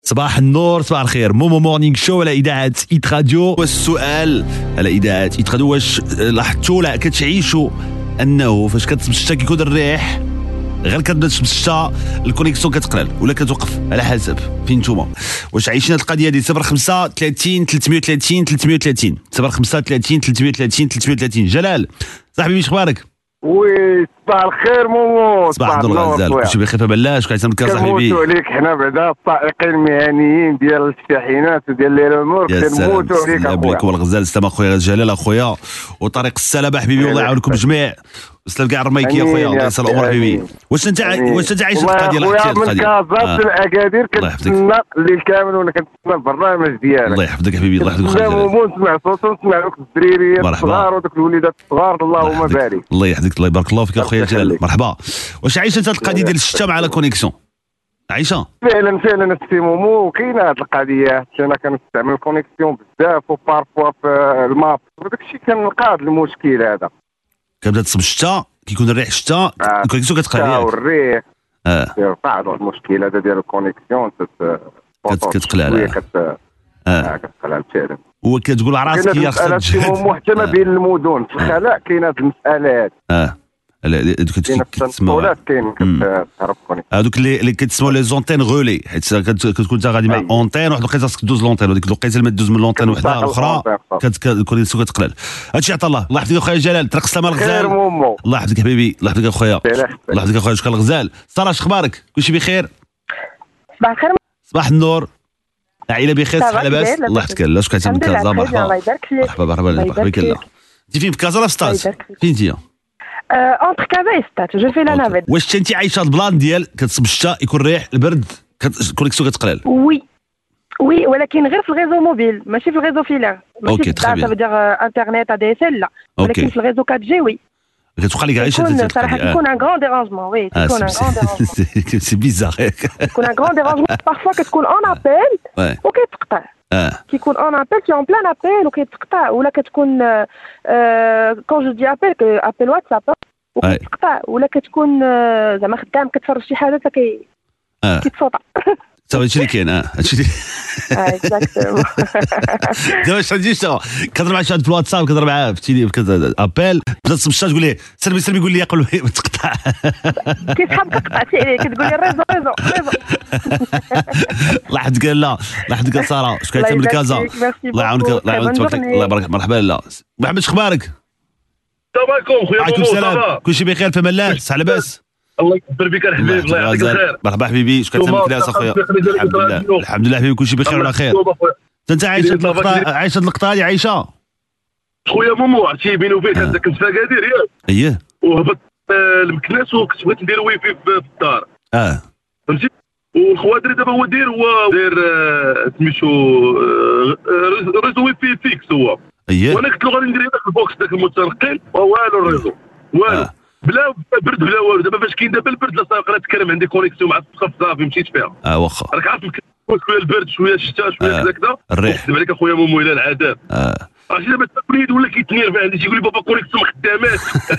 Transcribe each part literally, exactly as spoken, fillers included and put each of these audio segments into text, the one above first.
صباح النور، صباح الخير. مومو مورنينغ شو على اذاعه ايت راديو. والسؤال على اذاعه ايت راديو، واش لاحظتوا لا كتعيشوا انه فاش كتمشى كيكون الريح غير كتبدا تمشى الكونيكسيون كتقلل ولا كتوقف على حسب فين نتوما واش عايشين هذه القضيه دي؟ صفر خمسة ثلاثين ثلاثمية وثلاثين ثلاثمية وثلاثين صفر خمسة ثلاثين ثلاثمية وثلاثين ثلاثمية وثلاثين. جلال صاحبي واش اخبارك؟ وي صباح الخير مومو. صباح النور غزال، كلشي بخير بلاش كيعطيك الكاس صاحبي. كنموتوا عليك حنا بعدا السائقين المهنيين ديال الشاحنات وديال لي ريمور كنموتوا عليك اخويا. عليكم الغزال، سلام اخويا جلال اخويا، وطريق السلامه حبيبي، والله يعاونكم الجميع. سلام كاع الرميكي اخويا، الله يسر الامور حبيبي. واش انت واش انت عايش القضيه اللي حكيتها القضيه؟ من كازات الاكادير كنتسنى الليل كامل وانا كنتسنى البرنامج ديالك. الله يحفظك حبيبي، الله يحفظك خير. نسمع صوتك ونسمع دوك الدريريات الصغار ودوك الوليدات الصغار، اللهم بارك. الله يحفظك، الله يبارك الله فيك اخويا جلال، مرحبا. واش عايش انت القضيه ديال الشتا مع لا كونيكسيون؟ عايشه فعلا فعلا السي مومو، كاينه هذه القضيه. انا كنستعمل الكونيكسيون بزاف وبارفوا في الماب وداك الشيء كنلقى هذا المشكل هذا. كتبدا تصب الشتا كيكون الريح الشتا الكونيكسيون كتقلع الشتا والريح اه كيرفع هذا المشكل هذا ديال الكونيكسيون كتقلع على كت اه كتقلع فعلا. وكتقول على راسك يا خصك تجهد حتى ما بين المدن في الخلاء كاينه هذه المساله هذه. اه هذوك كتسموا كاين كتهرب كونيكسيون هذوك اللي كتسموا لي زونتين غولي، حيت كتكون انت غادي مع اونتين واحد الوقيته خاصك دوز لونتين، وديك الوقيته اللي ما دوز من لونتين وحده اخرى الكونيكسيون كتقلل. هادشي عطا الله. الله يحفظك اخويا جلال، طريق السلامه الغزال. الله يحفظك حبيبي، الله يحفظك اخويا، الله يحفظك اخويا. شكرا الغزال. ساره اش اخبارك؟ كلشي بخير؟ صباح الخير. صباح النور. العائله بخير؟ صحه لاباس؟ الله يحفظك. لا شكون كتعمل كازا؟ مرحبا الله يبارك فيك. مرحبا مرحبا الله يبارك فيك. انت فين، في كازا ولا في ستاد؟ فين انت؟ اونتر كازا و ستاد، جو في لا نافيت. واش انت عايشه هاد البلان ديال كتصب الشتا يكون الريح البرد الكونيكسيون كتقلل؟ وي وي ولكن غير في الغيزو موبيل ماشي في الغيزو فيلار. اوكي تخي بيان. سافو دير انترنت ادي اس ال لا، ولكن في الغيزو فور جي وي. كتوقع لك عايشه صراحه كيكون ان غران ديرانجمون. وي كيكون ان غران ديرانجمون. سي بيزار كيكون ان غران ديرانجمون. بارفوا كتكون اون ابيل وكيتقطع. اه كيكون اون ابيل تي اون بلان ابيل وكيتقطع، ولا كتكون كون جو دي ابيل ابيل واتساب وكيتقطع، ولا كتكون زعما خدام كتفرج شي حاجه فكي كيتصوت. صافي هادشي اللي كاين. اه هادشي اللي اه اكزاكتومون. دابا واش غادي شنو كضرب مع شي واحد في الواتساب، كضرب معاه في تيلي كذا ابيل، بدا تصب تقول ليه سلمي سلمي، يقول لي يقول له تقطع، كيسحب كتقطع عليه، كتقول لي ريزو ريزو ريزو. الله يحفظك. لا الله يحفظك ساره، شكون كيعمل كازا؟ الله يعاونك الله يعاونك الله يبارك. مرحبا. لا محمد اخبارك؟ السلام عليكم خويا. وعليكم السلام، كلشي بخير في امان الله؟ صحه لاباس؟ الله يكبر بك الحبيب، الله يعطيك الخير. مرحبا حبيبي، شكون كتعمل كلاس اخويا؟ الحمد لله الحمد لله حبيبي، كلشي بخير وعلى خير. انت عايش هاد اللقطه عايش هاد اللقطه هادي عايشه؟ خويا مومو عرفتي بيني وبينك انا كنت في اكادير ياك؟ اييه. وهبط المكناس وكنت بغيت ندير واي فاي في الدار. اه فهمتي؟ والخوادري دابا هو داير هو داير سميتو ريزو واي فاي فيكس هو. اييه. وانا قلت له غادي ندير داك البوكس داك المتنقل والو الريزو والو بلا برد بلا والو. دابا فاش كاين دابا البرد لا صافي نتكلم عندي كونيكسيون مع السقف صافي مشيت فيها. اه واخا راك عارف شويه البرد شويه الشتاء شويه كذا كذا الريح. نكذب عليك اخويا مومو الى العذاب. اه عرفتي دابا التقليد ولا كيتنير عندي تيقول لي بابا كونيكسيون ما خداماش.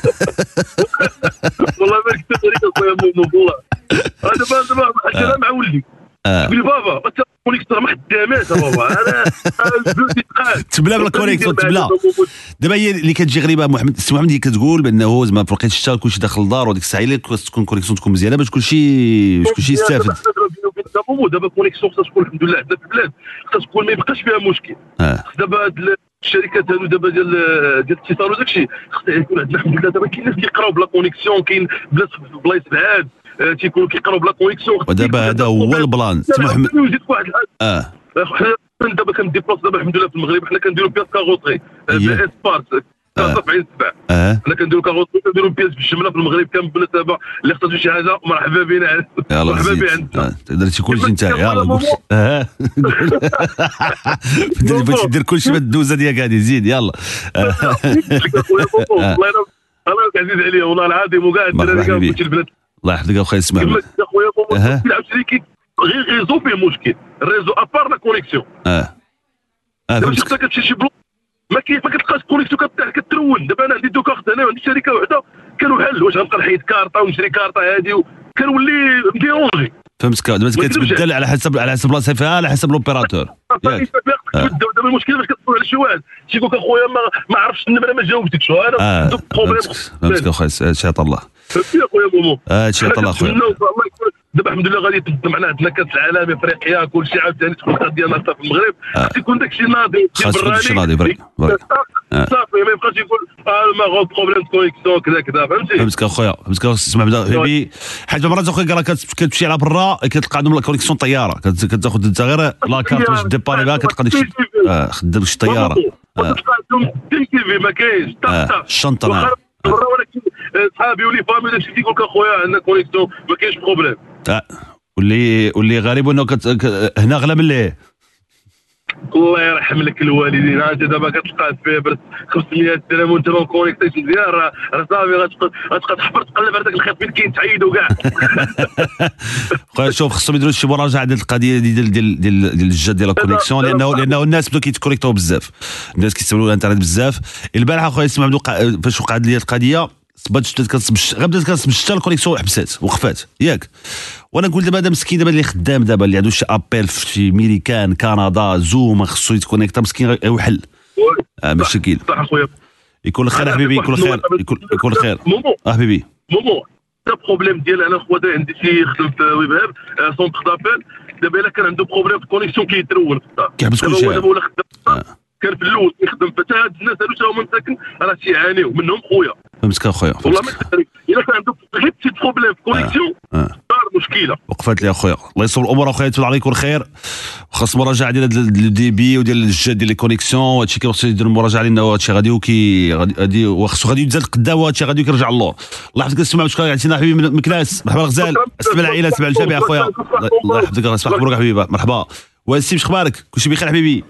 والله ما كتبت عليك اخويا مومو والله. دابا دابا حتى مع ولدي يقول لي بابا انت الكونيكسيون ما خداماش بابا. انا تبلا بالكونيكسيون تبلا. دابا هي اللي كتجي غريبه محمد السي محمد اللي كتقول بانه زعما في وقت الشتا كلشي داخل الدار وديك الساعه اللي خاص تكون كونيكسيون تكون مزيانه باش كلشي باش كلشي يستافد. دابا الكونيكسيون خاصها تكون الحمد لله عندنا في البلاد خاص تكون ما يبقاش فيها مشكل. دابا هاد الشركات هادو دابا ديال ديال الاتصال وداك الشيء خاص يكون عندنا الحمد لله. دابا كاين ناس كيقراو بلا كونيكسيون، كاين بلاص في بلايص بعاد تيكونوا كيقراو بلا كونيكسيون. ودابا هذا هو البلان سي محمد. نزيد واحد الحاجه اه حنا دابا كنديبلاص دابا الحمد لله في المغرب حنا كنديروا بياس كاغوطري اسبارت سبعين سبعة. حنا كنديروا كاغوطري كنديروا بياس بالجمله في المغرب كامل بالنسبه اللي خصها شي حاجه مرحبا بنا. مرحبا بنا عندنا درتي كلشي انت يلاه قول اه بغيتي دير كلشي بالدوزه ديالك هذه زيد يلا. الله الله عزيز عليا والله العظيم وكاع الدراري كاع البلاد. الله يحفظك اخويا اسمع خويا مومو عاوتاني غير ريزو فيه مشكل. الريزو ابار لا كونيكسيون. اه اه دابا انت كتمشي شي بلوك ما كاين ما كتلقاش كونيكسيون كترون. دابا انا عندي دو كارت هنا وعندي شركه وحده كانوا حل واش غنبقى نحيد كارطه ونشري كارطه هذه كنولي مديرونجي. فهمتك دابا كتبدل على حسب على حسب بلاصه فيها على حسب لوبيراتور ياك دابا المشكل فاش كتسول على شي واحد تيقول لك اخويا ما, ما عرفتش النمره ما جاوبتكش انا عندك بروبليم فهمتك اخويا هادشي عطا الله فهمتي اخويا مومو هادشي عطا الله اخويا دابا الحمد لله غادي تبدا معنا عندنا كاس العالم افريقيا كلشي عاوتاني تكون القضيه ناقصه في المغرب خص يكون داكشي ناضي خاص ناضي برك صافي ما يبقاش يقول اه ما غو بروبليم كونيكسيون كذا كذا فهمتي فهمتك اخويا فهمتك اسمع بدا حبيبي حيت مرات اخويا راه كتمشي على برا كتلقى عندهم لا كونيكسيون طياره كتاخذ انت غير لا كارت باش ديباري بها كتلقى داكشي اه خدام شي طياره كتلقى عندهم تي تي في ما كاينش الشنطه ولكن صحابي ولي فامي داكشي كيقول لك اخويا عندنا كونيكسيون ما كاينش بروبليم اه واللي واللي غريب انه كت... ك... هنا غلا من ليه الله يرحم لك الوالدين انت دابا كتلقى فيه برد خمسمية درهم وانت ما كونيكتيش مزيان راه راه صافي غتبقى غتبقى تحفر تقلب على داك الخيط فين كاين تعيدو كاع خويا شوف خصهم يديروا شي مراجعه ديال القضيه ديال ديال ديال ديال الجد ديال الكونيكسيون لانه لانه الناس بداو كيتكونيكتاو بزاف الناس كيستعملوا الانترنت بزاف البارحه خويا اسمع بدو فاش وقعت لي القضيه صبات بدات كتصب غير بدات كتصب الشتا الكونيكسيون حبسات وقفات ياك وانا نقول دابا هذا مسكين دابا اللي خدام دابا اللي عنده شي ابيل في شي ميريكان كندا زوم خصو يتكونيكتا مسكين يوحل اه مشكل صح اخويا يكون الخير حبيبي يكون الخير يكون يكون الخير اه حبيبي مومو تا بروبليم ديال انا خويا عندي شي خدم في ويبهاب سونتر دابيل دابا الا كان عنده بروبليم في الكونيكسيون كيترول كيحبس كلشي كان في الاول يخدم حتى هاد الناس هادو تا هما مساكن راه تيعانيو منهم خويا فهمتك اخويا والله ما كذلك الا كان عنده غير بتي بروبليم في الكونيكسيون صار مشكله وقفات لي اخويا الله يصوب الامور اخويا يتبع عليك والخير وخاص مراجعه ديال الدي بي وديال الجد ديال لي كونيكسيون وهادشي كيخص يدير مراجعه لانه هادشي غادي وكي غادي وخصو غادي يتزاد قدام وهادشي غادي يرجع اللور الله يحفظك السمع بشكرك عطينا حبيبي من مكناس مرحبا الغزال اسمع العائله اسمع الجميع اخويا الله يحفظك اسمع مبروك حبيبي مرحبا واسيم اخبارك كلشي بخير حبيبي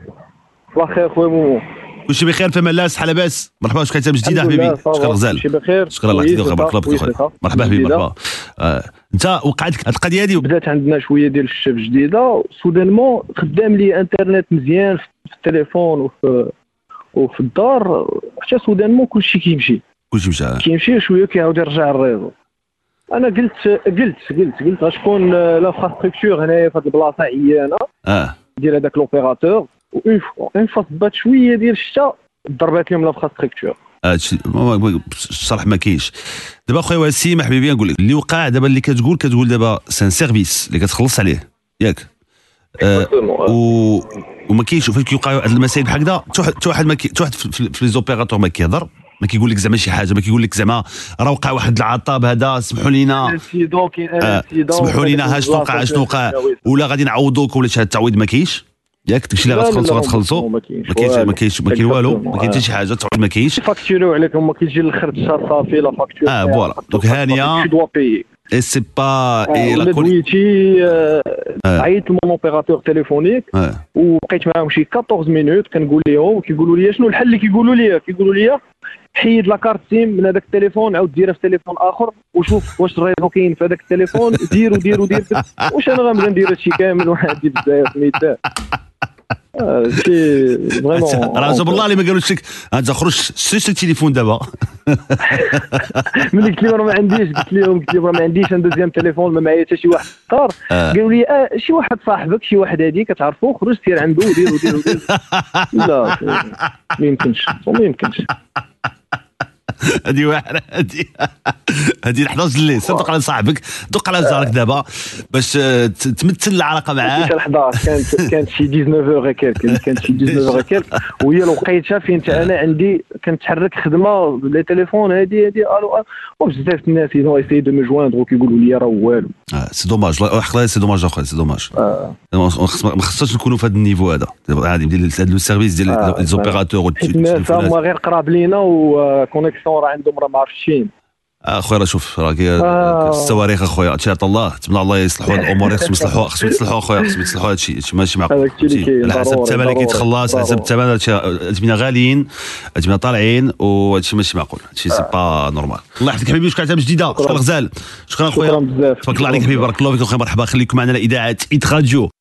الله خير خويا مومو كلشي بخير فما لاس بحال لاباس مرحبا واش كاين جديده حبيبي شكرا غزال كلشي بخير شكرا الله يحفظك بارك الله فيك مرحبا حبيبي مرحبا آه. انت وقعت لك هاد القضيه هادي بدات عندنا شويه ديال الشباب جديده سودانمون خدام لي انترنت مزيان في التليفون وفي وفي الدار حتى سودانمون كلشي كيمشي كلشي مشى كيمشي شويه كيعاود يرجع الريزو انا قلت قلت قلت قلت غتكون لافراستركتور هنايا في هاد البلاصه عيانه اه ديال هذاك لوبيراتور اون فوا اون فوا صبات شويه ديال الشتا ضربات لهم لافراستركتور هادشي الصراحه ما كاينش دابا اخويا وسيم حبيبي نقول لك اللي وقع دابا اللي كتقول كتقول دابا سان سيرفيس اللي كتخلص عليه ياك آه و وما كاينش فاش كيوقعوا هاد المسائل بحال هكذا حتى واحد ما حتى واحد في لي زوبيراتور ما كيهضر ما كيقول لك زعما شي حاجه ما كيقول لك زعما راه وقع واحد العطاب هذا سمحوا لينا آه سمحوا لينا ها شنو وقع شنو وقع ولا غادي نعوضوك ولا شي التعويض ما كاينش ياك داكشي اللي غتخلصوا غتخلصوا ما كاينش ما كاينش ما كاين والو ما كاين حتى شي حاجه تعويض ما كاينش فاكتوريو عليكم ما كيجي الاخر الشهر صافي لا فاكتور اه فوالا دونك هانيه اي سي با اي لا كوليتي عيطت لمون اوبيراتور تليفونيك وبقيت معاهم شي أربعطاش مينوت كنقول لهم كيقولوا لي شنو الحل اللي كيقولوا لي كيقولوا لي حيد لا كارت سيم من هذاك التليفون عاود ديرها في تليفون اخر وشوف واش الريزو كاين في هذاك التليفون دير ودير ودير واش انا غنبدا ندير هادشي كامل واحد بزاف ميتاه سي فريمون راه بالله اللي ما قالوش لك انت خرج شري التليفون دابا ملي قلت لهم ما عنديش قلت لهم قلت لهم ما عنديش انا دوزيام تليفون ما معايا حتى شي واحد اختار قالوا لي اه شي واحد صاحبك شي واحد هادي كتعرفو خرج سير عنده ودير ودير ودير لا ما يمكنش ما يمكنش هذه واحده هذه هذه حداش الليل سير دوق على صاحبك دوق على جارك دابا باش تمثل العلاقه معاه حداش كانت كانت شي تسعطاش هكاك كانت شي تسعطاش هكاك وهي الوقيته فين انا عندي كنتحرك خدمه لي تليفون هذه هذه الو وبزاف الناس يدو ايساي دو مي جويندر وكيقولوا لي راه والو اه سي دوماج حقا سي دوماج اخويا سي دوماج ما خصناش نكونوا في هذا النيفو هذا عادي ديال لو سيرفيس ديال لي زوبيراتور والناس هما غير قراب لينا وكونيكسيون راه عندهم راه ما عرفتش اخويا راه شوف راه الصواريخ اخويا ان شاء الله تمنى الله يصلحوا الامور خصهم يصلحوا خصهم يصلحوا اخويا خصهم يصلحوا هذا الشيء ماشي معقول على حسب الثمن اللي كيتخلص على حسب الثمن الثمن غاليين الثمن طالعين وهذا الشيء ماشي معقول هذا الشيء سي با نورمال الله يحفظك حبيبي شكرا على جديده شكرا غزال شكرا اخويا تبارك الله عليك حبيبي بارك الله فيك اخويا مرحبا خليكم معنا على اذاعه إيت راديو.